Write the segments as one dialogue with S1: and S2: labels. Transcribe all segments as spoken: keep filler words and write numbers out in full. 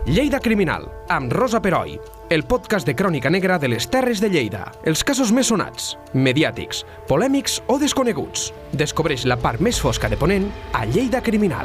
S1: Lleida Criminal, amb Rosa Peroi, el podcast de crònica negra de les Terres de Lleida. Els casos més sonats, mediàtics, polèmics o desconeguts. Descobreix la part més fosca de Ponent a Lleida Criminal.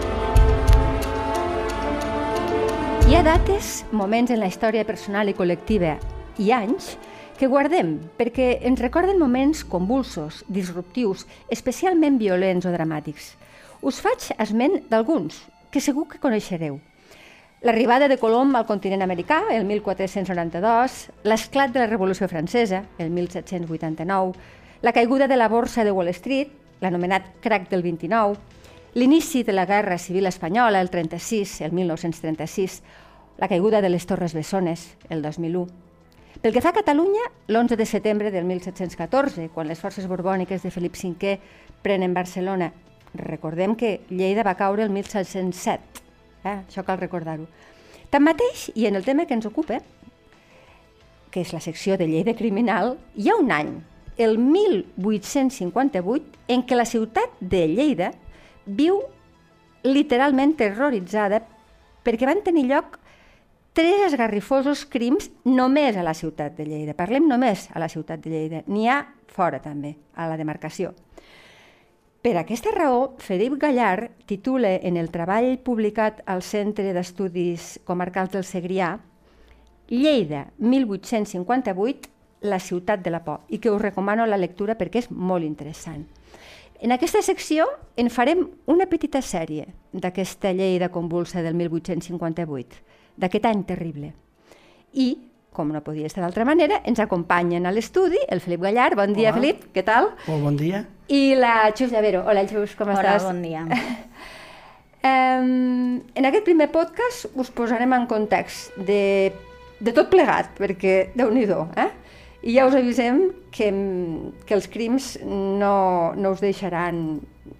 S2: Hi ha dates, moments en la història personal i col·lectiva i anys que guardem perquè ens recorden moments convulsos, disruptius, especialment violents o dramàtics. Us faig esment d'alguns que segur que coneixereu. L'arribada de Colom al continent americà, el mil quatre-cents noranta-dos, l'esclat de la Revolució Francesa, el mil set-cents vuitanta-nou, la caiguda de la borsa de Wall Street, l'anomenat crac del vint-i-nou, l'inici de la Guerra Civil Espanyola, el trenta-sis, el mil nou-cents trenta-sis, la caiguda de les Torres Bessones, el dos mil u. Pel que fa a Catalunya, l'onze de setembre del mil set-cents catorze, quan les forces borbòniques de Felip cinquè prenen Barcelona. Recordem que Lleida va caure el mil set-cents set. Eh? Això cal recordar-ho. Tanmateix, i en el tema que ens ocupa, que és la secció de Lleida Criminal, hi ha un any, el mil vuit-cents cinquanta-vuit, en què la ciutat de Lleida viu literalment terroritzada perquè van tenir lloc tres esgarrifosos crims només a la ciutat de Lleida. Parlem només a la ciutat de Lleida. N'hi ha fora també, a la demarcació. Per aquesta raó, Felip Gallard titula en el treball publicat al Centre d'Estudis Comarcals del Segrià Lleida mil vuit-cents cinquanta-vuit, la ciutat de la por, i que us recomano la lectura perquè és molt interessant. En aquesta secció en farem una petita sèrie d'aquesta Lleida convulsa del mil vuit-cents cinquanta-vuit, d'aquest any terrible. I, com no podia estar d'altra manera, ens acompanyen a l'estudi el Felip Gallard. Bon dia,
S3: Hola.
S2: Felip, què tal?
S3: Molt bon dia.
S2: I la Xus Llavero. Hola, Xus, com
S4: Hola,
S2: estàs?
S4: Hola, bon dia.
S2: um, en aquest primer podcast us posarem en context de, de tot plegat, perquè déu-n'hi-do, eh? I ja us avisem que, que els crims no, no us deixaran...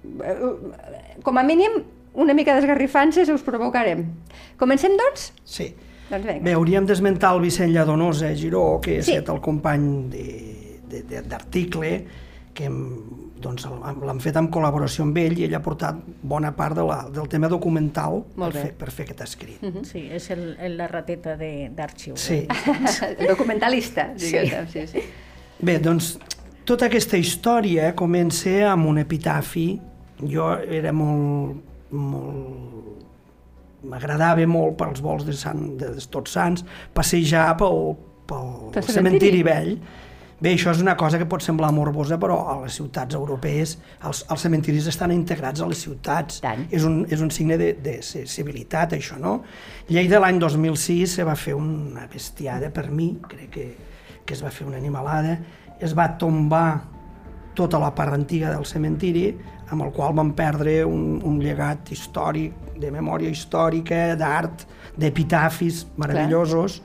S2: Com a mínim, una mica d'esgarrifances us provocarem. Comencem, doncs?
S3: Sí.
S2: Doncs vinga.
S3: Bé, hauríem d'esmentar el Vicent Lladonosa Giró, que
S2: Sí.
S3: és el company d'article, que doncs, l'han fet en col·laboració amb ell i ell ha portat bona part de la, del tema documental per fer, per fer aquest escrit.
S2: Uh -huh.
S4: Sí, és el, el, la rateta d'arxiu.
S3: Sí.
S2: El documentalista, diguéssim. Sí. Sí, sí.
S3: Bé, doncs, tota aquesta història comença amb un epitafi. Jo era molt... molt m'agradava molt pels vols de, Sant, de Tots Sants passejar pel, pel, pel cementiri vell. Bé, això és una cosa que pot semblar morbosa, però a les ciutats europees els, els cementiris estan integrats a les ciutats.
S2: Tant.
S3: És un, és un signe de, de civilitat, això, no? Lleida l'any dos mil sis se va fer una bestiada, per mi, crec que, que es va fer una animalada, es va tombar tota la part antiga del cementiri, amb el qual vam perdre un, un llegat històric, de memòria històrica, d'art, d'epitafis meravellosos,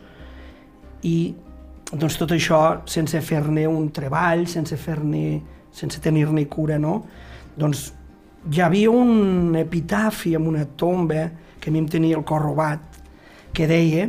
S3: i doncs tot això sense fer-ne un treball, sense fer-ne, sense tenir-ne cura, no? Doncs hi havia un epitafi amb una tomba que a mi em tenia el cor robat, que deia: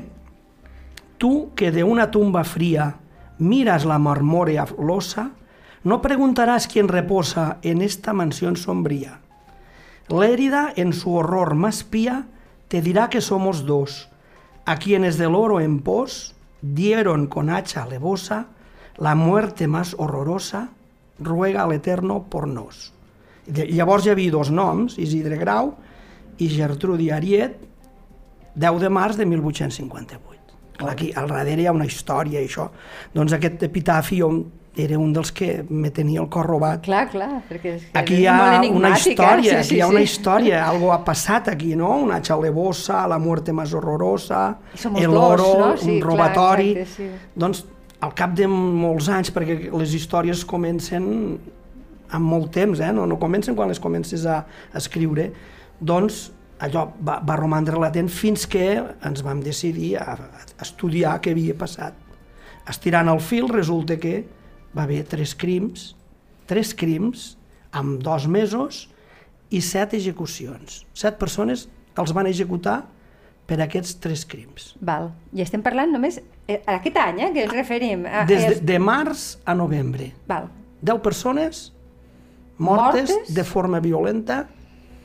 S3: tu que de una tumba fría miras la marmórea losa, no preguntarás quién reposa en esta mansión sombría. Lérida, en su horror más pía, te dirá que somos dos, a quienes del oro en pos dieron con hacha alevosa la muerte más horrorosa, ruega al Eterno por nos. Llavors hi havia dos noms, Isidre Grau i Gertrudi Ariet, deu de març de mil vuit-cents cinquanta-vuit. Aquí al darrere hi ha una història i això. Doncs aquest epitafi era un dels que me tenia el cor robat.
S2: Clar, clar, perquè és,
S3: aquí
S2: és
S3: hi ha
S2: molt
S3: una història,
S2: eh? sí, sí,
S3: aquí hi ha
S2: sí.
S3: una història, algo ha passat aquí, no? Una xalevosa, la muerte más horrorosa, el oro,
S2: no? Sí,
S3: un robatori...
S2: clar, exacte, sí.
S3: Doncs al cap de molts anys, perquè les històries comencen amb molt temps, eh? no, no comencen quan les comences a, a escriure, doncs allò va, va romandre latent fins que ens vam decidir a, a estudiar què havia passat. Estirant el fil, resulta que va haver tres crims, tres crims amb dos mesos i set execucions. Set persones els van executar per aquests tres crims.
S2: Val. I estem parlant només eh, aquest any, eh, que ens referim. A,
S3: Des de,
S2: és...
S3: de març a novembre.
S2: Val.
S3: Deu persones mortes,
S2: Mortes?
S3: de forma violenta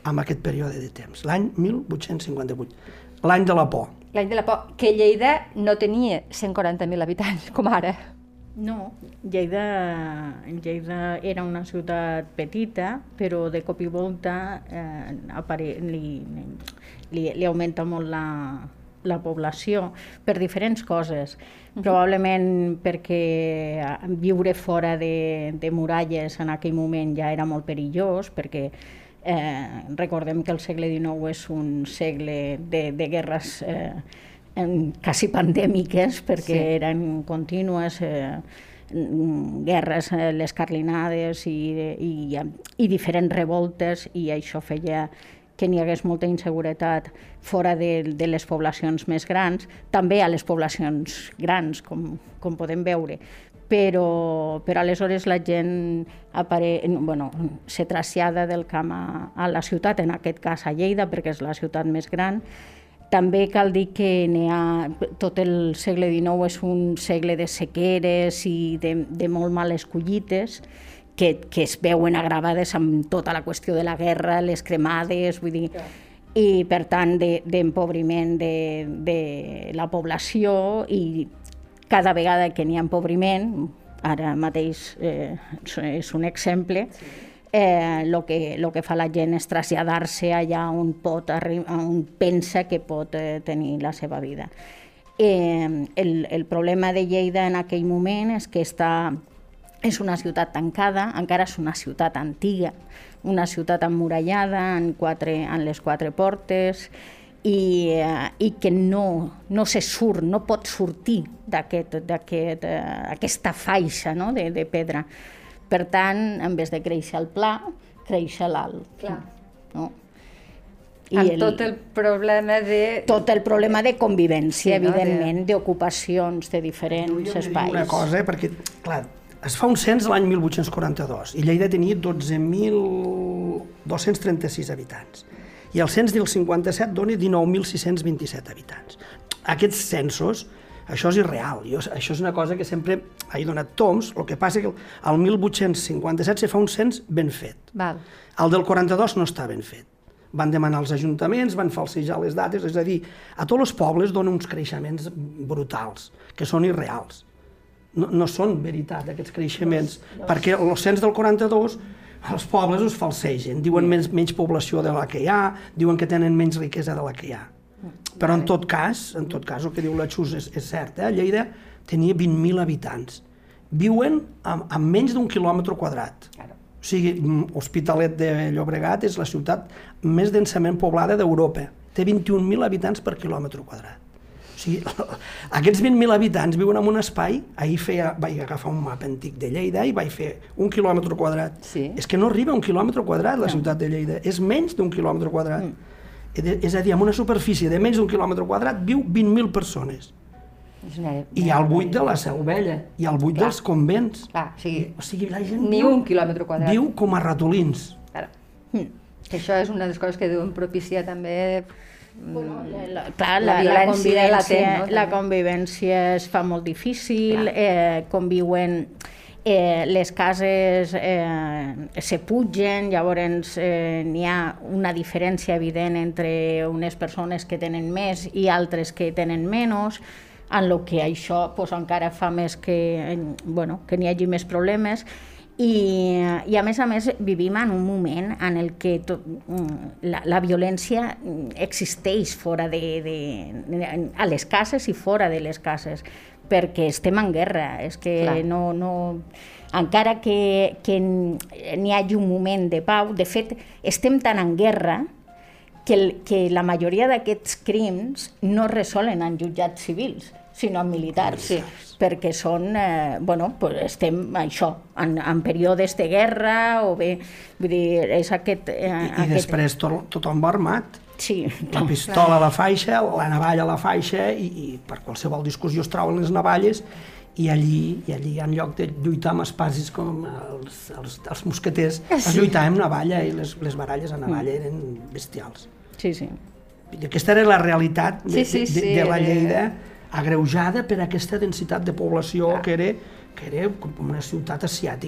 S3: en aquest període de temps, l'any mil vuit-cents cinquanta-vuit, l'any de la por.
S2: L'any de la por, que Lleida no tenia cent quaranta mil habitants, com ara.
S4: No, Lleida, Lleida era una ciutat petita, però de cop i volta eh, apare... li, li, li augmenta molt la, la població per diferents coses. Uh-huh. Probablement perquè viure fora de, de muralles en aquell moment ja era molt perillós, perquè eh, recordem que el segle dinou és un segle de, de guerres eh, quasi pandèmiques, perquè sí. eren contínues eh, guerres, eh, les carlinades i, i, i diferents revoltes, i això feia que n'hi hagués molta inseguretat fora de, de les poblacions més grans, també a les poblacions grans, com, com podem veure. Però, però aleshores la gent apare... bueno, se trasllada del camp a, a la ciutat, en aquest cas a Lleida, perquè és la ciutat més gran. També cal dir que n'hi ha, tot el segle dinou és un segle de sequeres i de, de molt males collites, que, que es veuen agravades amb tota la qüestió de la guerra, les cremades, vull dir, i per tant d'empobriment de, de la població, i cada vegada que n'hi ha empobriment, ara mateix eh, és un exemple, Eh, lo que, lo que fa la gent és traslladar-se allà on, pot, on pensa que pot eh, tenir la seva vida. Eh, el, el problema de Lleida en aquell moment és que està, és una ciutat tancada, encara és una ciutat antiga, una ciutat emmurallada en, quatre, en les quatre portes, i, eh, i que no, no se surt, no pot sortir d'aquest, d'aquest, eh, aquesta faixa, no?, de, de pedra. Per tant, en vez de créixer al pla, créixer l'alt. No?
S2: I amb el, tot el problema de...
S4: Tot el problema de convivència, sí, no? Evidentment, de... d'ocupacions de diferents
S3: jo
S4: espais.
S3: Una cosa, perquè, clar, es fa un cens l'any mil vuit-cents quaranta-dos i Lleida tenia dotze mil dos-cents trenta-sis habitants. I el cens del cinquanta-set dona dinou mil sis-cents vint-i-set habitants. Aquests censos, això és irreal, jo, això és una cosa que sempre he donat toms, el que passa que el mil vuit-cents cinquanta-set se fa un cens ben fet.
S2: Val.
S3: El del quaranta-dos no està ben fet. Van demanar als ajuntaments, van falsejar les dates, és a dir, a tots els pobles donen uns creixements brutals, que són irreals. No, no són veritat, aquests creixements, no, no. Perquè els cens del quaranta-dos els pobles us falsegen, diuen menys, menys població de la que hi ha, diuen que tenen menys riquesa de la que hi ha. Però en tot cas, en tot cas, el que diu la Xus és, és cert, eh? Lleida tenia vint mil habitants. Viuen amb, amb menys d'un quilòmetre quadrat. O sigui, Hospitalet de Llobregat és la ciutat més densament poblada d'Europa. Té vint-i-un mil habitants per quilòmetre quadrat. O sigui, aquests vint mil habitants viuen en un espai, ahir feia, vaig agafar un mapa antic de Lleida i vaig fer un quilòmetre quadrat. Sí. És que no arriba a un quilòmetre quadrat la ciutat de Lleida, és menys d'un quilòmetre quadrat. Mm. És a dir, amb una superfície de menys d'un quilòmetre quadrat viu vint mil persones. I hi ha el buit de la Seu Vella, i el buit dels convents.
S2: Clar, o sigui,
S3: o sigui, la gent
S2: ni
S3: viu,
S2: un quilòmetre quadrat.
S3: Viu com a ratolins.
S2: Claro. Mm. Això és una de les coses que deuen propiciar també
S4: bueno, la, clar, la, la, la, convivència, latent, no? La convivència es fa molt difícil, eh, conviuen... Eh, les cases eh, se pugen, llavors eh, n'hi ha una diferència evident entre unes persones que tenen més i altres que tenen menys, en el que això pues, encara fa més que, bueno, que n'hi hagi més problemes. I, I a més a més vivim en un moment en el que tot, la, la violència existeix fora de, de, de, a les cases i fora de les cases, perquè estem en guerra, és que Clar. no, no... encara que, que n'hi hagi un moment de pau, de fet, estem tan en guerra que, el, que la majoria d'aquests crims no es resolen en jutjats civils, sinó en militars, sí. Perquè són, eh, bueno, pues estem això, en, en períodes de guerra, o bé, vull dir, és aquest... Eh,
S3: I, i
S4: aquest...
S3: després to, tothom va armat.
S4: Sí.
S3: La pistola a la faixa, la navalla a la faixa, i, i per qualsevol discussió es troben les navalles, i allí, i allí en lloc de lluitar amb espasis com els, els, els mosqueters, sí. Es lluitava amb navalla, i les, les baralles a navalla mm. eren bestials.
S4: Sí, sí.
S3: I aquesta era la realitat de, sí, sí, sí. de, de la Lleida, agreujada per aquesta densitat de població que era, que era com una ciutat asiàtica.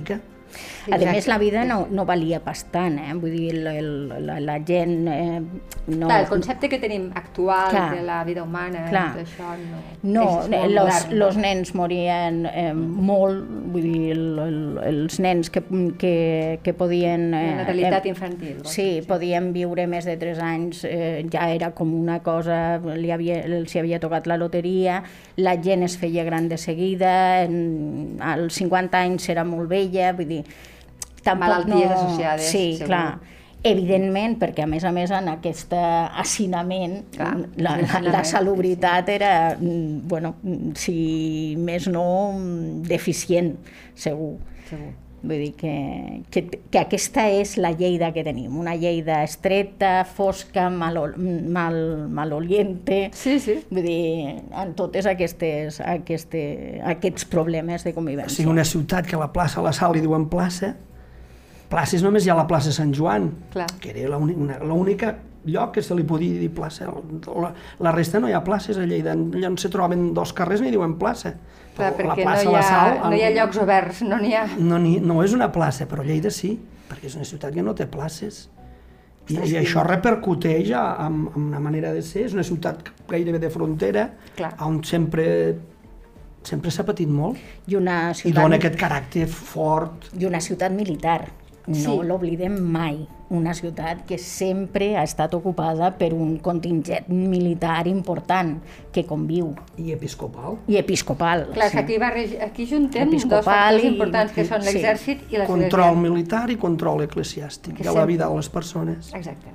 S4: A més, la vida no, no valia pas tant, eh? Vull dir, el, el, la, la gent... Eh, no...
S2: Clar, el concepte que tenim actual
S4: Clar.
S2: de la vida humana,
S4: Clar.
S2: tot això no...
S4: No,
S2: és molt
S4: los,
S2: modern,
S4: los
S2: no?
S4: nens morien eh, molt, vull dir, el, el, els nens que, que, que podien... Eh,
S2: La natalitat
S4: eh,
S2: infantil.
S4: Sí, podien viure més de tres anys, eh, ja era com una cosa, li havia, els havia tocat la loteria, la gent es feia gran de seguida, en, als cinquanta anys era molt vella, vull dir... Tampoc
S2: Malalties
S4: no...
S2: associades,
S4: Sí,
S2: segur.
S4: clar. Evidentment, perquè a més a més en aquest hacinament
S2: Clar,
S4: la, la,
S2: hacinament,
S4: la salubritat era, mm, bueno, si més no, deficient, segur.
S2: Segur.
S4: Vull dir que, que, que aquesta és la Lleida que tenim, una Lleida estreta, fosca, mal, mal, maloliente,
S2: Sí, sí.
S4: vull dir, en totes aquestes, aquestes, aquests problemes de
S3: O
S4: convivència.
S3: sigui, una ciutat que a la plaça La Sal li diuen plaça, places només hi ha la plaça Sant Joan,
S2: Clar.
S3: que era l'única lloc que se li podia dir plaça. La, la resta no hi ha places a Lleida, allà on se troben dos carrers n'hi diuen plaça.
S2: Clar,
S3: Però la
S2: perquè
S3: plaça
S2: no hi,
S3: La
S2: ha,
S3: Sal,
S2: no hi ha llocs oberts, no n'hi ha...
S3: No, ni, no és una plaça, però Lleida sí, perquè és una ciutat que no té places. I, i això repercuteix amb, amb una manera de ser, és una ciutat gairebé de frontera,
S2: Clar.
S3: on sempre sempre s'ha patit molt,
S4: I una
S3: i
S4: ciutat,
S3: dona aquest caràcter fort.
S4: i una ciutat militar. No
S2: Sí.
S4: l'oblidem mai. Una ciutat que sempre ha estat ocupada per un contingent militar important que conviu.
S3: I episcopal.
S4: I episcopal.
S2: Clar,
S4: sí.
S2: que aquí, barrege, aquí juntem dos
S4: Episcopal
S2: factors
S4: i-
S2: importants que són
S4: sí.
S2: l'exèrcit i l'església.
S3: Control militar i control eclesiàstic
S2: Que
S3: de la
S2: sempre-
S3: vida de les persones.
S2: Exacte.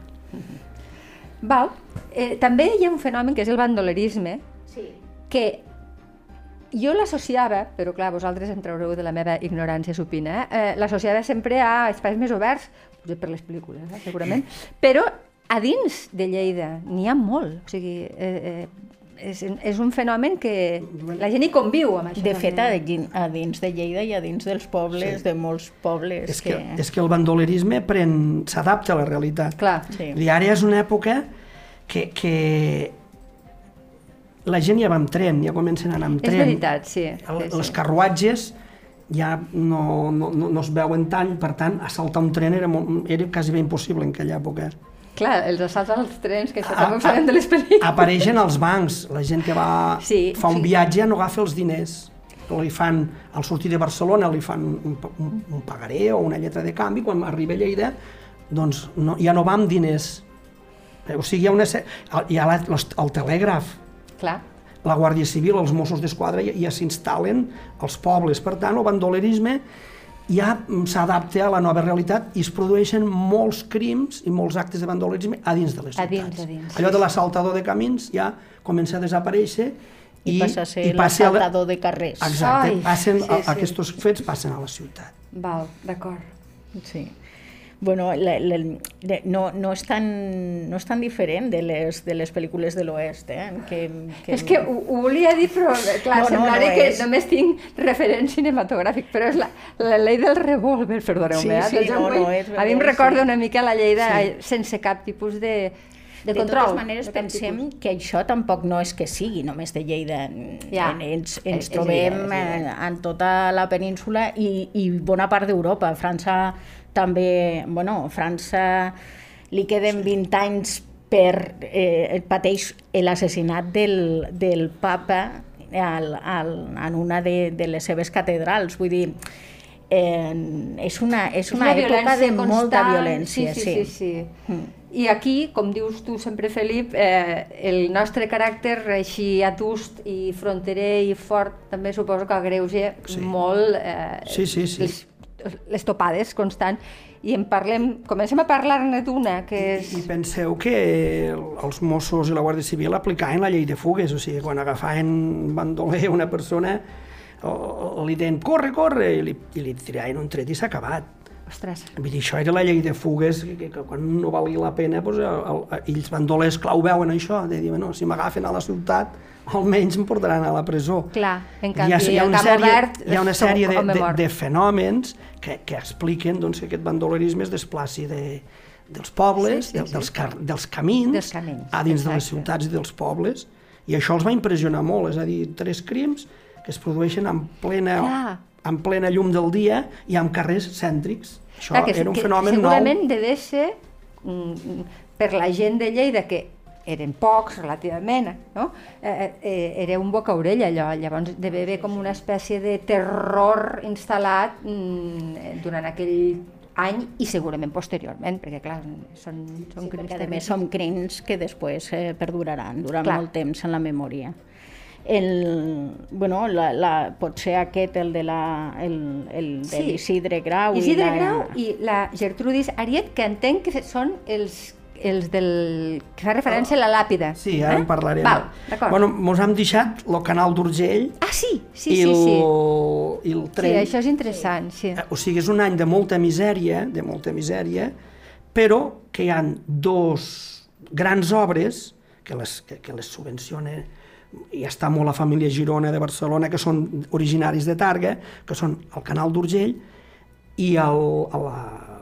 S2: Val. Eh, també hi ha un fenomen que és el bandolerisme,
S4: Sí.
S2: que jo l'associava, però clar, vosaltres em traureu de la meva ignorància supina, eh? eh l'associava sempre a espais més oberts, potser per les pel·lícules, eh? segurament, però a dins de Lleida n'hi ha molt, o sigui, eh, eh, és, és un fenomen que la gent hi conviu amb això.
S4: De fet, a,
S2: també.
S4: din- a dins de Lleida i a dins dels pobles,
S3: Sí.
S4: de molts pobles...
S3: És que, és que el bandolerisme pren- s'adapta a la realitat.
S2: Clar,
S4: Sí.
S3: I ara és una època que, que la gent ja va amb tren, ja comencen a anar amb
S2: és
S3: tren.
S2: veritat, sí.
S3: El,
S2: sí,
S3: els
S2: sí.
S3: carruatges ja no, no, no, no es veuen tant, per tant, assaltar un tren era, molt, era quasi bé impossible en aquella època.
S2: Clar, els assalts als trens, que això
S3: A-
S2: també ho
S3: a-
S2: sabem de les pel·lícules.
S3: Apareixen els bancs, la gent que va,
S2: Sí,
S3: fa un
S2: sí.
S3: viatge no agafa els diners. Li fan, al sortir de Barcelona li fan un, un, un pagaré o una lletra de canvi, quan arriba a Lleida doncs no, ja no va amb diners. O sigui, hi ha, una, se- hi ha la, los- el telègraf,
S2: Clar.
S3: la Guàrdia Civil, els Mossos d'Esquadra ja, ja s'instal·len als pobles. Per tant, el bandolerisme ja s'adapta a la nova realitat i es produeixen molts crims i molts actes de bandolerisme a dins de les
S2: A
S3: ciutats.
S2: dins, a dins,
S3: Allò
S2: sí,
S3: de l'assaltador de camins ja comença a desaparèixer
S4: I, I passa a ser
S3: i passa a la-
S4: l'assaltador de carrers.
S3: Exacte,
S2: Ai,
S3: passen,
S2: sí,
S3: a-
S2: sí.
S3: aquests fets passen a la ciutat.
S2: Val, d'acord.
S4: Sí. Bueno, la, la, la, no, no, és tan, no és tan diferent de les, de les pel·lícules de l'Oest, eh? Que, que...
S2: És que ho, ho volia dir, però clar,
S4: No, no,
S2: semblaré
S4: no
S2: que
S4: és.
S2: només tinc referent cinematogràfic, però és la, la llei del revòlver, perdoneu-me.
S4: Sí,
S2: eh?
S4: sí,
S2: Del John
S4: no, no,
S2: Wayne.
S4: és
S2: A mi em
S4: veritat,
S2: recorda
S4: sí.
S2: una mica la lleida
S3: Sí.
S2: sense cap tipus de, de,
S4: De
S2: control.
S4: totes maneres,
S2: de cap
S4: pensem
S2: tipus.
S4: que això tampoc no és que sigui només de Lleida.
S2: Ja.
S4: En- Ens,
S2: És-
S4: ens
S2: és
S4: trobem
S2: evident, és evident.
S4: eh, en tota la península i, i bona part d'Europa. França també, bueno, França li queden vint anys per eh, pateix l'assassinat del, del papa al, al, en una de, de les seves catedrals. Vull dir, eh, és una, és una, època
S2: violència
S4: de molta
S2: constant.
S4: violència.
S2: Sí, sí, sí. sí, sí.
S4: Mm.
S2: I aquí, com dius tu sempre, Felip, eh, el nostre caràcter així adust i fronterer i fort també suposo que agreuja
S3: Sí.
S2: molt eh,
S3: Sí, sí, sí.
S2: Les, les topades constant. I en parlem, comencem a parlar-ne d'una, que és...
S3: I penseu que els Mossos i la Guàrdia Civil aplicaven la llei de fugues, o sigui, quan agafaven bandoler a una persona, o, o li deien corre, corre, i li, i li tiraven un tret i s'ha acabat.
S2: Ostres,
S3: Vull dir, això era la llei de fugues, que, que, que quan no valia la pena, doncs, el, el, ells bandolers, clar, ho veuen això, de dir, bueno, si m'agafen a la ciutat, almenys em portaran a la presó.
S2: clar, en
S3: Hi
S2: canvi,
S3: ha, hi ha
S2: al
S3: una
S2: camp
S3: sèrie,
S2: obert...
S3: hi ha una
S2: som
S3: sèrie de,
S2: home
S3: de,
S2: mort.
S3: de fenòmens que, que expliquen doncs, que aquest bandolerisme es desplaci de, dels pobles,
S2: Sí, sí,
S3: de,
S2: sí.
S3: dels, car, dels camins,
S2: Dels camins,
S3: a dins de les
S2: exacte.
S3: ciutats i dels pobles, i això els va impressionar molt, és a dir, tres crims que es produeixen en plena
S2: Clar.
S3: en plena llum del dia i amb carrers cèntrics. Això
S2: Clar, que,
S3: era un
S2: que
S3: fenomen
S2: segurament
S3: nou.
S2: devia ser mm, per la gent de Lleida, que eren pocs relativament, no? eh, eh, era un boca-orella allò, llavors devia haver com una espècie de terror instal·lat mm, durant aquell any i segurament posteriorment, perquè clar, són, són
S4: Sí,
S2: crims
S4: perquè a més
S2: terribles.
S4: són crims que després eh, perduraran durant
S2: Clar.
S4: molt temps en la memòria. El, bueno, la, la, pot ser aquest, el de la, el, el de
S2: Sí.
S4: l'Isidre Grau.
S2: Isidre
S4: i la,
S2: Grau i la Gertrudis Ariet, que entenc que són els, els del... que fa referència a la làpida.
S3: Sí, ara
S2: eh?
S3: en parlarem.
S2: Val, d'acord.
S3: Bueno, mos hem deixat el canal d'Urgell
S2: Ah, sí, sí,
S3: i,
S2: sí,
S3: el,
S2: sí.
S3: i el
S2: Sí,
S3: tren.
S2: això és interessant, sí.
S3: O sigui, és un any de molta misèria, de molta misèria, però que hi ha dos grans obres que les, que, que les subvenciona, i està molt la família Girona de Barcelona, que són originaris de Targa, que són el canal d'Urgell i el, la,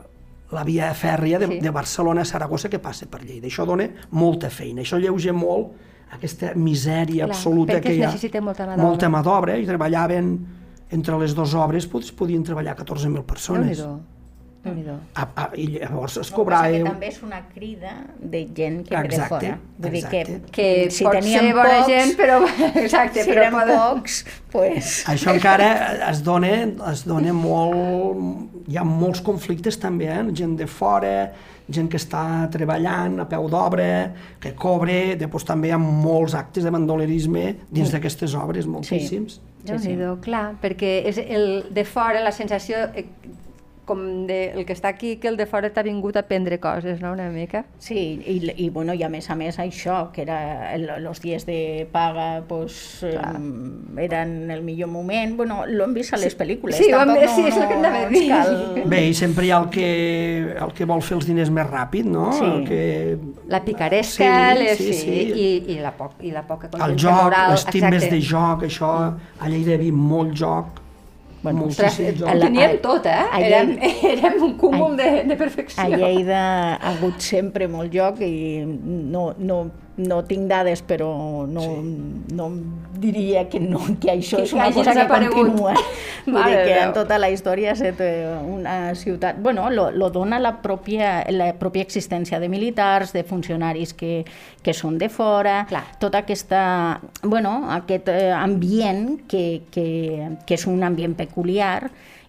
S3: la via fèrria de,
S2: Sí.
S3: de Barcelona a Saragossa, que passa per Lleida. Això dona molta feina, això alleuja molt aquesta misèria
S2: Clar,
S3: absoluta
S2: perquè
S3: que
S2: es
S3: hi ha.
S2: necessita molta mà d'obra.
S3: Molta mà d'obra, i treballaven entre les dues obres, pues, podien treballar catorze mil persones.
S2: Déu-n'hi-do, Déu-n'hi-do.
S3: A, a, I llavors es
S4: No,
S3: cobrava...
S4: que també és una crida de gent que ve de
S3: Exacte,
S4: fora. Vull dir
S3: exacte.
S4: que,
S2: Que
S4: si
S2: pot
S4: teníem
S2: ser bona
S4: pocs,
S2: gent, però... Exacte,
S4: si
S2: però
S4: eren
S2: poden...
S4: pocs, pues...
S3: Això encara es dona, es dona molt... Hi ha molts conflictes també, eh? Gent de fora, gent que està treballant a peu d'obra, que cobre, després també hi ha molts actes de bandolerisme dins d'aquestes obres, moltíssims.
S2: Déu-n'hi-do, clar, perquè és el de fora, la sensació eh, com de, el que està aquí, que el de fora t'ha vingut a prendre coses, no?, una mica.
S4: Sí, i, i, bueno, i a més a més això, que era el, els dies de paga, pues, eh, eren el millor moment. Bueno, lo hem vist a les pel·lícules.
S2: Sí, ho hem
S4: tampoc
S2: vist, sí, és el que anava a
S4: ens
S2: dir.
S4: cal-
S3: Bé, i sempre hi ha el que, el que vol fer els diners més ràpid, no?
S4: Sí.
S3: El que...
S2: La picaresca,
S3: Sí,
S2: les,
S3: sí,
S2: sí,
S3: sí.
S2: I, i, la poc, i la poca
S3: El
S2: consciència
S3: joc,
S2: moral.
S3: les timbes
S2: exacte.
S3: de joc, això, a Lleida hi havia molt joc,
S4: Bueno,
S2: Ostres,
S3: moltíssim joc.
S2: ho teníem
S4: a-
S2: tot, eh?
S4: a
S2: Érem,
S4: Lleida-
S2: érem un cúmul
S4: a-
S2: de, de
S4: A
S2: perfecció.
S4: Lleida ha hagut sempre molt joc i no, no, no tinc dades, però no, no diria que, no, que això
S2: Que-
S4: és
S2: que
S4: una
S2: hagi
S4: cosa que
S2: desaparegut.
S4: continua. Vull
S2: Mare
S4: dir
S2: de
S4: que
S2: Déu.
S4: en tota la història és una ciutat... Bueno, lo, lo dona la pròpia, la pròpia existència de militars, de funcionaris que, que són de fora,
S2: Clar.
S4: tota aquesta... Bueno, aquest eh, ambient que, que, que és un ambient peculiar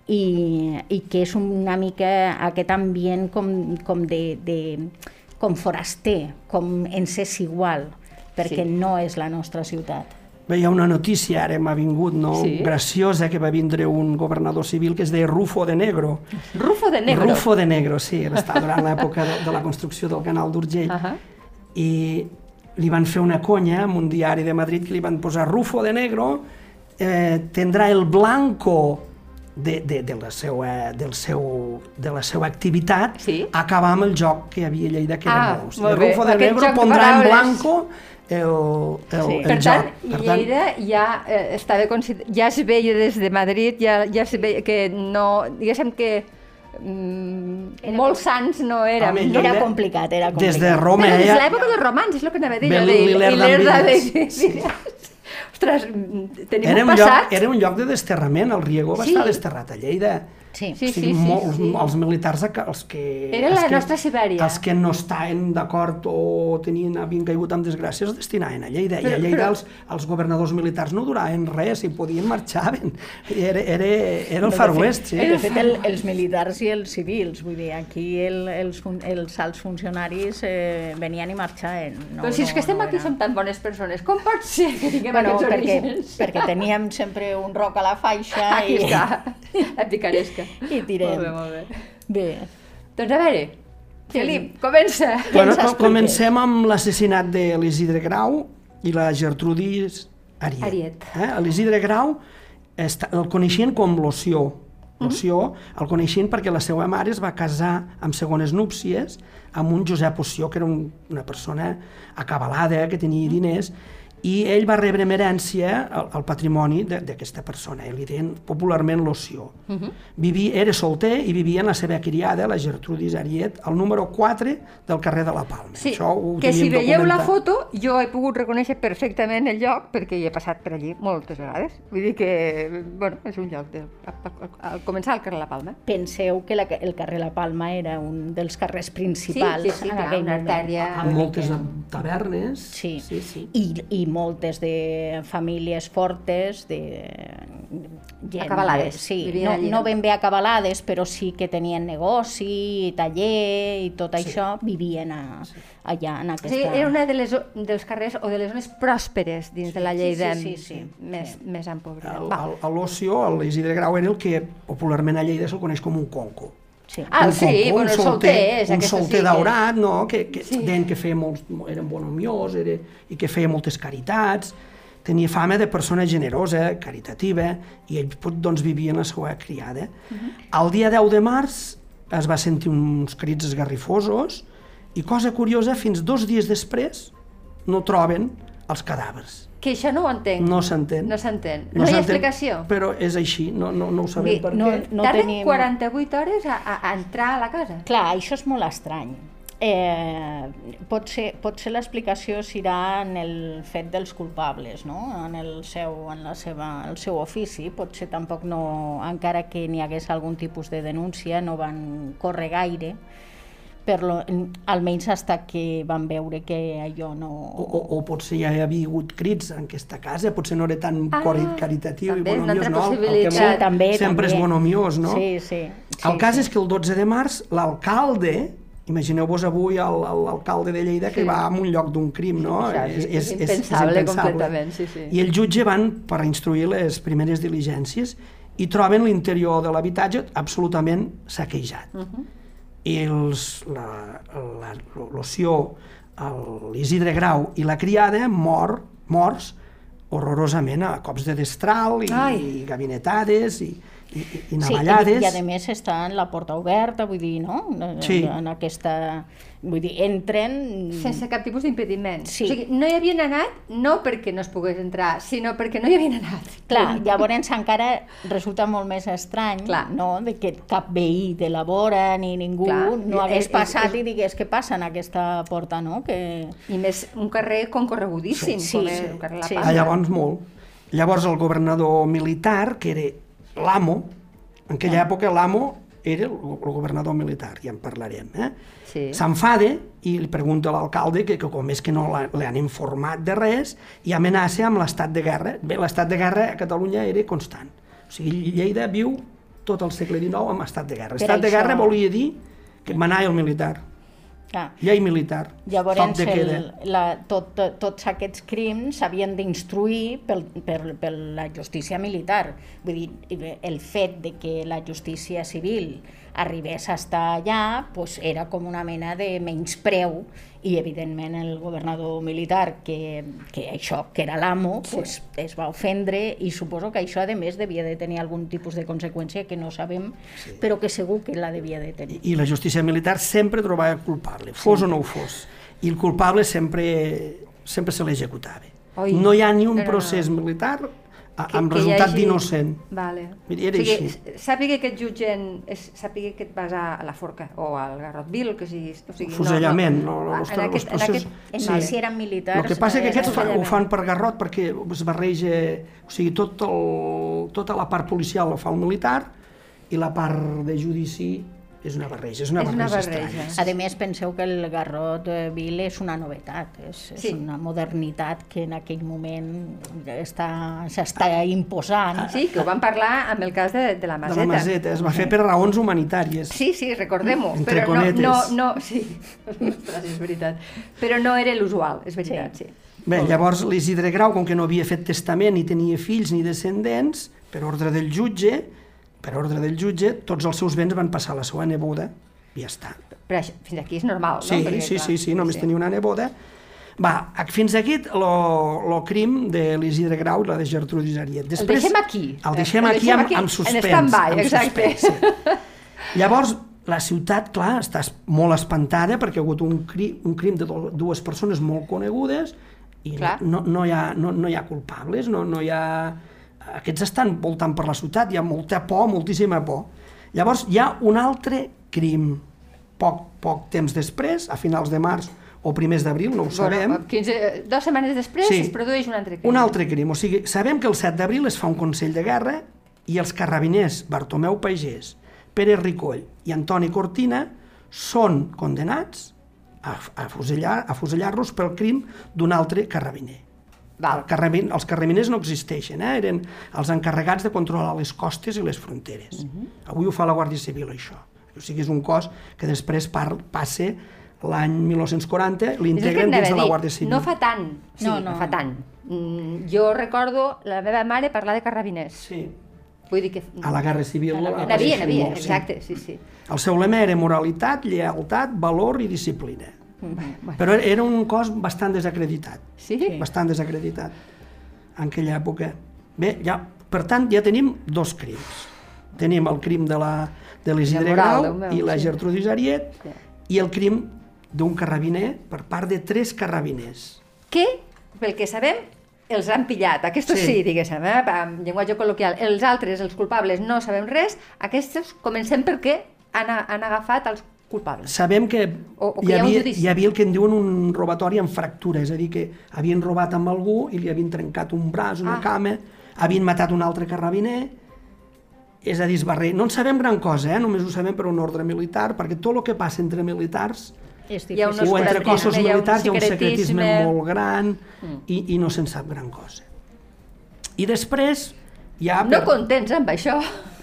S4: i, i que és una mica aquest ambient com, com de, de com foraster, com ens és igual, perquè
S2: Sí.
S4: no és la nostra ciutat.
S3: Bé, hi ha una notícia, ara m'ha vingut, no?
S2: Sí.
S3: Graciosa, que va vindre un governador civil que es deia Rufo de Negro.
S2: Rufo de negro.
S3: Rufo de Negro, sí, era està durant l'època de, de la construcció del canal d'Urgell.
S2: Ahà.
S3: I li van fer una conya en un diari de Madrid que li van posar Rufo de Negro eh, tendrà el blanco de, de, de, la seva, del seu, de la seva activitat
S2: Sí.
S3: acabar amb el joc que hi havia a Lleida, que
S2: Ah,
S3: era molt. O sigui,
S2: molt bé.
S3: Rufo de
S2: Aquest
S3: Negro
S2: joc de
S3: pondrà en
S2: paraules.
S3: blanco el, el,
S4: Sí.
S3: el
S2: Per
S3: joc.
S2: tant, Lleida ja eh, estava consider... ja es veia des de Madrid, ja, ja es veia que no... Diguéssim que mm,
S4: Era
S2: molts sants no érem.
S3: Home,
S2: no?
S3: Lleida-
S4: Era complicat, era complicat.
S3: Des de Roma,
S2: Però des de
S3: ja-
S2: l'època dels romans, és el que anava a dir.
S3: Bé,
S2: allò de
S3: l'Ilerda
S2: l'Ilerda
S3: amb
S2: de...
S3: ells.
S2: Sí. Ostres, tenim
S3: Era
S2: un
S3: un, lloc,
S2: passat...
S3: era un lloc de desterrament, el Riego va
S2: Sí.
S3: estar desterrat a Lleida.
S4: Sí.
S2: Sí,
S3: O sigui,
S2: sí, sí,
S3: molts,
S2: sí.
S3: els militars, els que...
S2: Era
S3: els
S2: la
S3: que,
S2: nostra Sibèria.
S3: Els que no estaven d'acord o tenien, havien caigut amb desgràcies es destinaven a Lleida. I
S2: Però-
S3: a Lleida
S2: però-
S3: els, els governadors militars no duraven res, i podien marxaven. Era, era, era el
S4: De
S3: Far
S4: fet-
S3: West, sí.
S4: De fet, el, els militars i els civils, vull dir, aquí el, els, fun- els alts funcionaris eh, venien i marxaven. No,
S2: Però si és
S4: no-
S2: que estem
S4: no
S2: aquí,
S4: era-
S2: som tan bones persones, com pot ser que tinguem
S4: Bueno,
S2: aquests
S4: perquè,
S2: orígens?
S4: perquè teníem sempre un roc a la faixa
S2: Aquí
S4: i,
S2: està, la picaresca.
S4: i tirem.
S2: Molt bé, molt bé.
S4: Bé.
S2: Doncs a veure, Felip, comença.
S3: Bueno,
S4: ens
S3: com-
S4: expliques?
S3: comencem amb l'assassinat de l'Isidre Grau i la Gertrudis Ariet.
S2: Ariet.
S3: Eh? L'Isidre Grau està, el coneixien com l'Oció. L'Oció el coneixien perquè la seva mare es va casar amb segones núpcies amb un Josep Oció, que era un, una persona acabalada, que tenia diners, i ell va rebre en herència el, el patrimoni d'aquesta persona, ell li deien popularment l'Oció. Uh -huh. Vivia, era solter i vivia en la seva criada, la Gertrudis Ariet, al número quatre del carrer de la Palma.
S2: Sí,
S3: Això ho
S2: que si veieu
S3: documentat.
S2: la foto, jo he pogut reconèixer perfectament el lloc, perquè hi he passat per allí moltes vegades. Vull dir que, bueno, és un lloc de, al començar al carrer La Palma.
S4: Penseu que la, el carrer La Palma era un dels carrers principals
S2: sí, sí, sí,
S4: en
S2: clar,
S4: aquell
S2: una
S4: moment.
S2: artèria.
S3: Amb moltes tavernes.
S4: Sí,
S3: sí, sí.
S4: I, i moltes de famílies fortes, de gent...
S2: Acabalades.
S4: Sí,
S2: Vivien
S4: no,
S2: allí,
S4: no
S2: no?
S4: ben bé acabalades, però sí que tenien negoci, taller i tot
S3: Sí.
S4: això, vivien a,
S3: Sí.
S4: allà en aquesta...
S2: Sí, era una de les, dels carrers o de les zones pròsperes dins
S4: Sí,
S2: de la
S4: sí,
S2: Lleida
S4: sí, sí, sí.
S2: més,
S4: Sí.
S2: més empobrida.
S3: El-
S2: Va.
S3: el- a l'Oció, l'Isidre Grau, era el que popularment a Lleida se'l coneix com un conco.
S4: Sí.
S2: Ah,
S3: un
S2: sí,
S3: conco,
S2: bueno,
S3: un
S2: el solter, és
S3: un
S2: aquesta
S3: solter
S2: sí que-
S3: daurat, no? que, que
S2: Sí.
S3: deien que feia molts, era bonhomiós era, i que feia moltes caritats, tenia fama de persona generosa, caritativa, i ell doncs, vivia en la seva criada. Uh-huh. El dia deu de març es va sentir uns crits esgarrifosos i, cosa curiosa, fins dos dies després no troben els cadàvers.
S2: Que això no ho entenc.
S3: No s'entén.
S2: No s'entén. No, hi ha
S3: s'entén,
S2: explicació.
S3: Però és així, no, no, no ho sabem
S2: Bé,
S3: per
S4: no-
S3: què.
S4: no
S2: Tarden
S4: tenim-
S2: quaranta-vuit hores a, a, a entrar a la casa.
S4: Clar, això és molt estrany. Eh, potser, potser l'explicació serà en el fet dels culpables, no? En el seu, en la seva, el seu ofici. Potser tampoc no, encara que n'hi hagués algun tipus de denúncia, no van córrer gaire, per lo, almenys fins que van veure que allò no...
S3: O, o, o potser ja hi havia hagut crits en aquesta casa, potser no era tan
S2: Ah,
S3: ah, caritatiu
S2: també
S3: i
S2: és una
S3: bonomiós,
S2: altra
S3: no? El- el que
S2: possibilitat.
S3: molt
S4: Sí, també,
S3: sempre
S4: també.
S3: és bonomiós, no?
S4: Sí, sí. sí
S3: El cas
S4: sí.
S3: és que el dotze de març l'alcalde, imagineu-vos avui el- el- l'alcalde de Lleida que
S2: Sí.
S3: va a un lloc d'un crim, no?
S2: Això és- és impensable completament, sí, sí.
S3: I el jutge van per instruir les primeres diligències i troben l'interior de l'habitatge absolutament saquejat.
S2: Uh -huh.
S3: I els, la, la, l'Oció, l'Isidre Grau i la criada mor, morts horrorosament a cops de destral i,
S2: Ai.
S3: i gabinetades i, i, i
S4: Sí,
S3: navallades.
S4: i, i a més està en la porta oberta, vull dir, no? En,
S3: Sí.
S4: en aquesta... Vull dir, entren...
S2: Sense cap tipus d'impediment.
S4: Sí.
S2: O sigui, no hi havien anat no perquè no es pogués entrar, sinó perquè no hi havien anat.
S4: Clar, llavors encara resulta molt més estrany,
S2: Clar.
S4: no?, de que cap veí de la vora ni ningú
S2: Clar.
S4: no hagués
S2: És- és-
S4: passat
S2: és-
S4: i digués què passa en aquesta porta, no? Que...
S2: I més un carrer concorregudíssim,
S4: Sí,
S2: com
S4: sí,
S2: és el carrer La
S4: sí.
S2: Palma.
S3: Ah, llavors molt. Llavors el governador militar, que era l'amo, en aquella
S4: Ah.
S3: època l'amo era el, el governador militar, ja en parlarem, eh?
S2: Sí.
S3: S'enfada i li pregunta a l'alcalde que, que com és que no l'han informat de res i amenaça amb l'estat de guerra. Bé, l'estat de guerra a Catalunya era constant. O sigui, Lleida viu tot el segle dinou amb estat de guerra.
S4: Per
S3: Estat de
S4: això-
S3: guerra volia dir que manava el militar,
S4: Clar.
S3: llei militar,
S4: Llavors,
S3: toc de queda.
S4: el, la, tot, tots aquests crims s'havien d'instruir pel, per, per la justícia militar. Vull dir, el fet de que la justícia civil arribés a estar allà pues, era com una mena de menyspreu i, evidentment, el governador militar, que, que això, que era l'amo,
S2: Sí.
S4: pues, es va ofendre i suposo que això, a més, devia de tenir algun tipus de conseqüència que no sabem, sí. però que segur que la devia de tenir.
S3: I la justícia militar sempre trobava culpable, fos sí. o no ho fos. I el culpable sempre, sempre se l'executava.
S2: Oi.
S3: No hi ha ni un
S2: No, no, no.
S3: procés militar a,
S2: Que-
S3: amb
S2: que hi
S3: resultat
S2: hagi-
S3: d'innocent.
S2: Vale.
S3: Mira, era
S2: o sigui,
S3: així.
S2: sàpiga que et jutgen, és, sàpiga que et vas a la forca o al Garrot Vil, que sigui... O sigui
S3: Fusellament, no, no,
S2: en
S3: los-
S2: aquest,
S3: los
S2: en
S3: processos-
S2: aquest,
S4: En
S3: Sí.
S4: sí. si eren militars...
S3: El que passa que
S4: eh,
S3: aquests fa, ho
S2: fusellament.
S3: fan per garrot perquè es barreja, o sigui, tot el, tota la part policial la fa el militar i la part de judici és una barreja, és una
S2: És una
S3: barreja,
S2: barreja.
S3: estranya.
S4: A més, penseu que el Garrot eh, Vil és una novetat, és, és
S2: Sí.
S4: una modernitat que en aquell moment està- s'està imposant.
S2: Sí, que ho vam parlar amb el cas de, de la
S3: De
S2: Maseta.
S3: la Maseta, es va fer per raons humanitàries.
S2: Sí, sí, recordem-ho.
S3: Entre
S2: però no,
S3: cometes.
S2: no, no, sí, ostres, és veritat. Però no era l'usual, és veritat, sí.
S4: Sí.
S3: Bé, llavors l'Isidre Grau, com que no havia fet testament, ni tenia fills ni descendents, per ordre del jutge, per ordre del jutge, tots els seus béns van passar a la seva neboda i ja està.
S2: Però això, fins aquí és normal,
S3: Sí,
S2: no? Perquè,
S3: sí,
S2: clar,
S3: sí, sí, només tenia una neboda. Va, fins aquí el crim de l'Isidre Grau i la de Gertrudis Ariet.
S2: El deixem aquí.
S3: El deixem
S2: El
S3: aquí
S2: deixem
S3: amb,
S2: aquí,
S3: amb
S2: en
S3: suspens.
S2: stand-by,
S3: amb
S2: exacte.
S3: suspens, sí. Llavors, la ciutat, clar, està molt espantada perquè ha hagut un crim, un crim de dues persones molt conegudes I no, no, hi ha, no, no hi ha culpables, no, no hi ha... Aquests estan voltant per la ciutat, hi ha molta por, moltíssima por. Llavors hi ha un altre crim, poc, poc temps després, a finals de març o primers d'abril, no ho sabem.
S2: Bueno, quinze, dues setmanes després sí, es produeix un altre crim.
S3: Un altre crim, o sigui, sabem que el set d'abril es fa un consell de guerra i els carrabiners Bartomeu Pagès, Pere Ricoll i Antoni Cortina són condenats a, a fusellar, a fusellar-los pel crim d'un altre carrabiner. El carrabin, els carrabiners no existeixen, eh? Eren els encarregats de controlar les costes i les fronteres. Uh-huh. Avui ho fa la Guàrdia Civil, això. O sigui, és un cos que després par, passa l'any mil nou-cents quaranta, l'integren dins de la Guàrdia Civil.
S2: No fa tant, sí, no, no. no fa tant. Mm, jo recordo la meva mare parlar de carrabiners.
S3: Sí.
S2: Vull dir que...
S3: A la Guerra Civil.
S2: N'havia, n'havia, exacte, sí, sí.
S3: El seu lema era moralitat, lleialtat, valor i disciplina. Mm-hmm. Però era un cos bastant desacreditat.
S2: Sí?
S3: Bastant desacreditat en aquella època. Bé, ja, per tant, ja tenim dos crims. Tenim el crim de la de l'Isidre Grau i la Gertrudis Ariet sí. i el crim d'un carrabiner per part de tres carrabiners.
S2: Que, pel que sabem, els han pillat. Aquests sí, sí diguéssim, eh? En llenguatge col·loquial. Els altres, els culpables, no sabem res. Aquests comencem perquè han, han agafat els culpables.
S3: Sabem que,
S2: o, o que
S3: hi, havia,
S2: hi,
S3: hi havia el que en diuen un robatori amb fractura, és a dir, que havien robat amb algú i li havien trencat un braç, una ah. cama, havien matat un altre carrabiner, és a dir, esbarrer. No en sabem gran cosa, eh? Només ho sabem per un ordre militar, perquè tot el que passa entre militars o entre cossos militars hi ha un secretisme molt gran mm. i, i no se'n sap gran cosa. I després ja...
S2: Per... No contents amb això.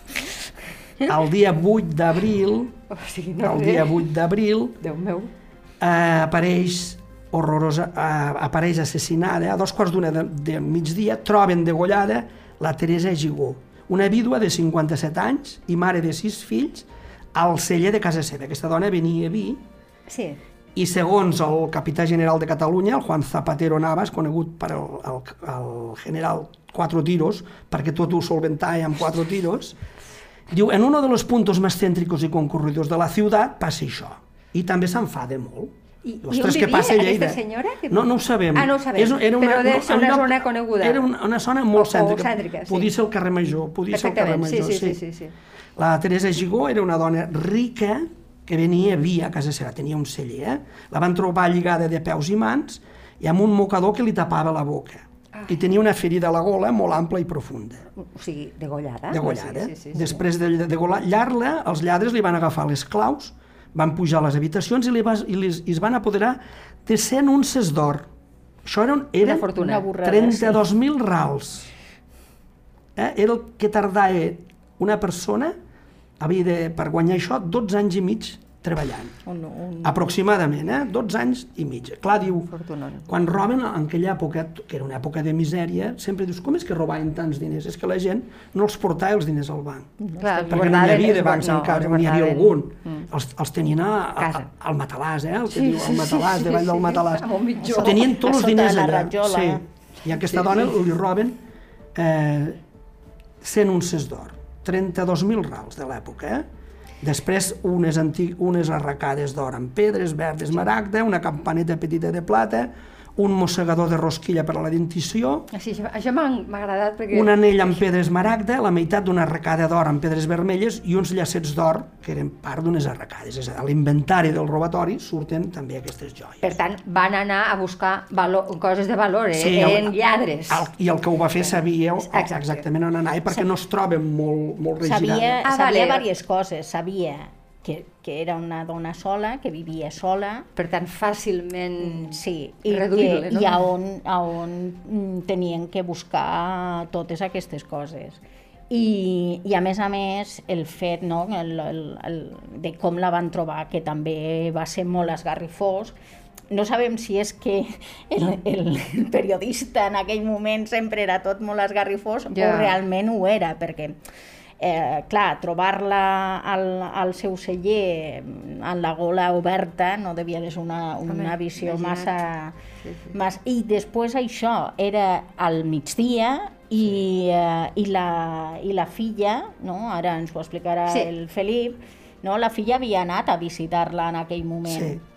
S3: El dia vuit d'abril,
S2: o sigui, no
S3: el dia vuit d'abril,
S2: Déu meu,
S3: eh, apareix horrorosa, eh, apareix assassinada, a dos quarts d'una de, de migdia, troben degollada la Teresa Gigó, una vídua de cinquanta-set anys i mare de sis fills, al celler de casa seva. Aquesta dona venia a vi,
S2: sí.
S3: i segons el capità general de Catalunya, el Juan Zapatero Navas, conegut per el, el, el general Cuatro Tiros, perquè tot ho solventava amb quatre tiros, diu, en uno de los puntos más céntricos y concurridos de la ciudad passa això. I també s'enfada molt.
S2: I, I on vivia aquesta senyora? Que...
S3: No, no ho sabem.
S2: Ah, no ho sabem, era una, però deu ser una, una zona coneguda.
S3: Era una, una zona molt o, cèntrica.
S2: O cèntrica, sí.
S3: Podia ser el carrer Major. Podia ser el carrer Major,
S2: sí, sí, sí, sí, sí.
S3: La Teresa Gigó era una dona rica que venia vi a casa seva, tenia un celler. Eh? La van trobar lligada de peus i mans i amb un mocador que li tapava la boca. Ah. I tenia una ferida a la gola molt ampla i profunda.
S2: O sigui, degollada.
S3: Degollada.
S2: Sí, sí, sí,
S3: Després de degollar-la, els lladres li van agafar les claus, van pujar a les habitacions i, li va, i, li, i es van apoderar de cent unces d'or. Això eren, eren
S2: una fortuna.
S3: trenta-dos mil rals. Eh? Era el que tardava una persona, havia de, per guanyar això, dotze anys i mig treballant.
S2: Un, un...
S3: Aproximadament, eh? dotze anys i mig. Clar, diu,
S2: Fortunant.
S3: quan roben en aquella època, que era una època de misèria, sempre dius, com és que robaven tants diners? És que la gent no els portava els diners al banc.
S2: No, clar,
S3: perquè no hi havia de bancs no, encara, n'hi havia algun.
S2: Mm.
S3: Els, els tenien a, a, a, al matalàs, eh? El que
S2: sí,
S3: diu, el matalàs,
S2: sí,
S3: davall
S2: sí,
S3: del matalàs.
S2: Sí,
S3: tenien tots els diners allà.
S4: Sí.
S3: I a aquesta
S2: sí,
S3: dona
S2: sí.
S3: li roben eh, cent unces d'or, trenta-dos mil rals de l'època, eh? Després unes, antic, unes arracades d'or amb pedres, verd esmaragda, una campaneta petita de plata, un mossegador de rosquilla per a la dentició,
S2: sí, això, això m'ha agradat perquè...
S3: un anell amb pedra esmaragda, la meitat d'una arracada d'or amb pedres vermelles i uns llacets d'or que eren part d'unes arracades. És a dir, a l'inventari del robatori surten també aquestes joies.
S2: Per tant, van anar a buscar valor, coses de valor, eh?
S3: Sí,
S2: eren
S3: el,
S2: lladres.
S3: El, I el que ho va fer sabia Exacte. exactament on anar, perquè no es troben molt, molt regirats.
S4: Sabia, ah, sabia vale. diverses coses, sabia que, que era una dona sola, que vivia sola.
S2: Per tant, fàcilment
S4: sí, i
S2: reduïble,
S4: que,
S2: no?
S4: I a on, a on tenien que buscar totes aquestes coses. I, i a més a més, el fet no, el, el, el, de com la van trobar, que també va ser molt esgarrifós. No sabem si és que el, el periodista en aquell moment sempre era tot molt esgarrifós ja. o realment ho era, perquè Eh, clar, trobar-la al, al seu celler amb la gola oberta no devia de ser una, una visió Home, massa, sí, sí. massa... I després això era al migdia i, eh, i, la, i la filla, no? Ara ens ho explicarà sí. el Felip, no? La filla havia anat a visitar-la en aquell moment.
S3: Sí.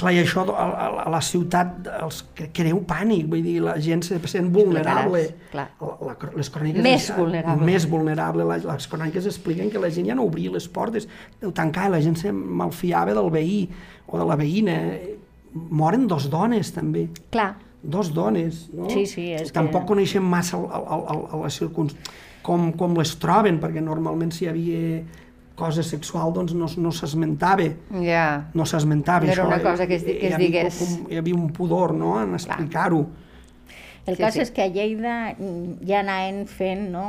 S3: Clar, i això a, a, a la ciutat els creu pànic, vull dir, la gent se sent vulnerable.
S2: Clar.
S3: La, la, les cròniques...
S2: Més
S3: es,
S2: vulnerable.
S3: Més vulnerable. Les, les cròniques expliquen que la gent ja no obria les portes, ho tancava, la gent se malfiava del veí o de la veïna. Moren dos dones, també.
S2: Clar.
S3: Dos dones, no?
S4: Sí, sí, és
S3: Tampoc
S4: que...
S3: coneixem massa el, el, el, el, les circumstàncies, com, com les troben, perquè normalment si hi havia cosa sexual doncs no, no s'esmentava.
S2: Ja.
S3: No s'esmentava
S2: No
S3: això.
S2: era una cosa que es, que es digués.
S3: Hi havia, hi havia un pudor, no?, en explicar-ho.
S4: El
S2: Sí,
S4: cas
S2: sí.
S4: és que a Lleida ja anaven fent, no,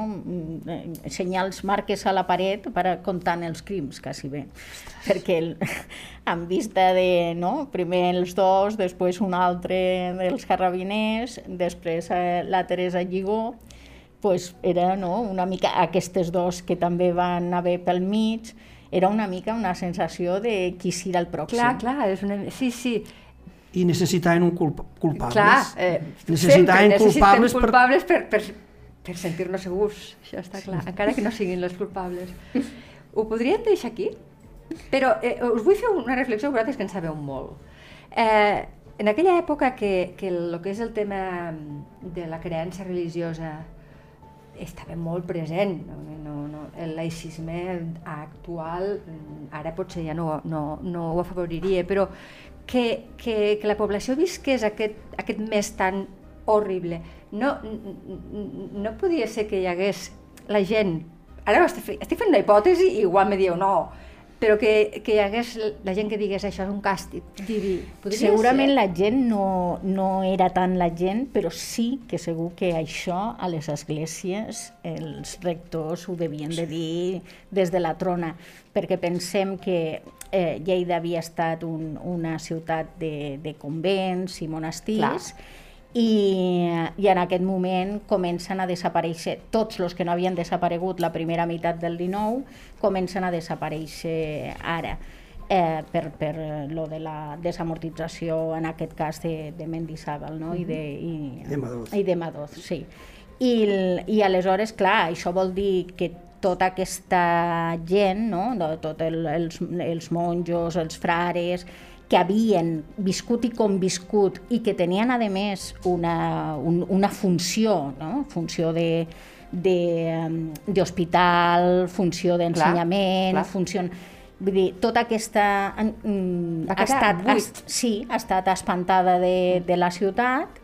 S4: senyals, marques a la paret per a comptant els crims, quasi bé. Perquè el, en vista de, no, primer els dos, després un altre dels carrabiners, després eh, la Teresa Lligó, pues era, no, una mica aquestes dos que també van haver pel mig, era una mica una sensació de qui serà el pròxim.
S2: Clar, clar, és una... Sí, sí.
S3: I necessitaven un culp culpables.
S2: Clar, eh,
S3: necessitaven
S2: sempre
S3: culpables,
S2: necessitem culpables per, per, per sentir-nos segurs, això està clar, encara que no siguin els culpables. Ho podríem deixar aquí? Però eh, us vull fer una reflexió, vosaltres que en sabeu molt. Eh, en aquella època que, que el que és el tema de la creença religiosa estava molt present, no, no, no, el laïcisme actual ara potser ja no, no, no ho afavoriria, però que, que, que la població visqués aquest, aquest mes tan horrible. No, no podia ser que hi hagués la gent, ara estic, estic fent una hipòtesi i igual me dieu no, però que, que hi hagués la gent que digués això és un càstig diví. Podria
S4: Segurament
S2: ser?
S4: la gent no, no era tant la gent, però sí que segur que això a les esglésies els rectors ho devien de dir des de la trona, perquè pensem que eh, Lleida havia estat un, una ciutat de, de convents i monestirs, clar. I, i en aquest moment comencen a desaparèixer, tots els que no havien desaparegut la primera meitat del dinou, comencen a desaparèixer ara, eh, per, per lo de la desamortització, en aquest cas de, de Mendizábal, no? I de, i,
S3: de Madoz.
S4: I de Madoz, sí. I, I aleshores, clar, això vol dir que tota aquesta gent, no? Tots el, els, els monjos, els frares, que havien viscut i conviscut i que tenien, a més, una, un, una funció, no? Funció de, de, d'hospital, funció d'ensenyament, funció... Vull dir, tota aquesta... Mm, ha, estat, ha, sí, ha estat espantada de, de la ciutat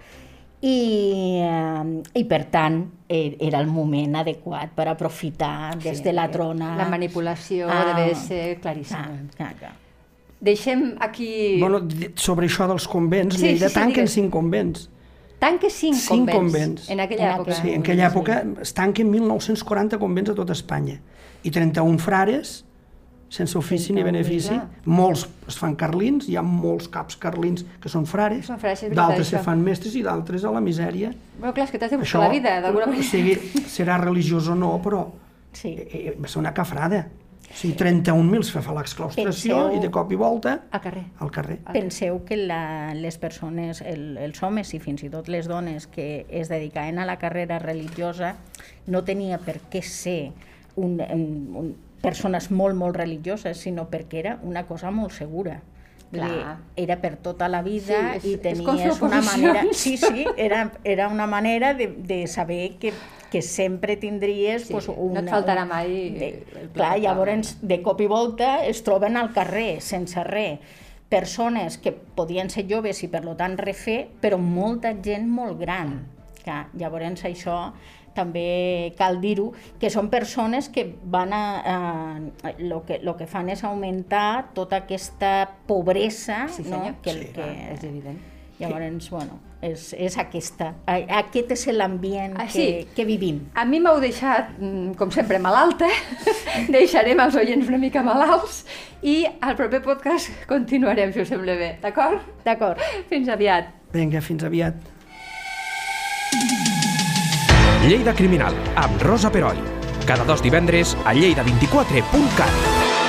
S4: i, i, per tant, era el moment adequat per aprofitar des de la trona...
S2: La manipulació ah, deve ser claríssima.
S4: Clar, clar, clar.
S2: Deixem aquí...
S3: Bueno, sobre això dels convents,
S2: sí,
S3: Lleida
S2: sí, sí,
S3: tanquen
S2: digues.
S3: cinc convents.
S2: Tanquen cinc,
S3: cinc
S2: convents,
S3: convents.
S2: En aquella època.
S3: Sí, en aquella època es tanquen mil nou-cents quaranta convents a tota Espanya. I trenta-un frares, sense ofici ni benefici. Molts es fan carlins, hi ha molts caps carlins que són frares, són frares d'altres se fan mestres i d'altres a la misèria.
S2: Bueno, clar, és que t'has de buscar la vida, d'alguna manera.
S3: Sigui, serà religiós o no, però
S4: sí.
S3: eh, va ser una cafrada. O sigui, trenta-un mil se fa l'exclaustració
S4: Penseu...
S3: i de cop i volta
S2: al carrer.
S3: Al carrer.
S4: Penseu que la, les persones, el, els homes i fins i tot les dones que es dedicaven a la carrera religiosa no tenia per què ser un, un, un, persones molt, molt religioses, sinó perquè era una cosa molt segura. Dir, era per tota la vida sí, és, i tenies una manera... Sí, sí, era, era una manera de, de saber que que sempre tindries...
S2: Sí,
S4: pues, una,
S2: no et faltarà mai...
S4: De, clar, llavors, de cop i volta es troben al carrer, sense res. Persones que podien ser joves i, per tant, refer, però molta gent molt gran. Clar, llavors, això també cal dir-ho, que són persones que van a... a lo, que, lo que fan és augmentar tota aquesta pobresa,
S2: sí,
S4: no? Que,
S2: sí,
S4: que,
S2: és evident.
S4: Llavors, bueno, és, és aquesta. Aquest és l'ambient ah, sí. que, que vivim.
S2: A mi m'heu deixat, com sempre, malalta. Deixarem els oients una mica malalts i al proper podcast continuarem, si us sembla bé. D'acord?
S4: D'acord.
S2: Fins aviat.
S3: Vinga, fins aviat.
S1: Lleida Criminal, amb Rosa Peroi. Cada dos divendres a lleida vint quatre punt cat.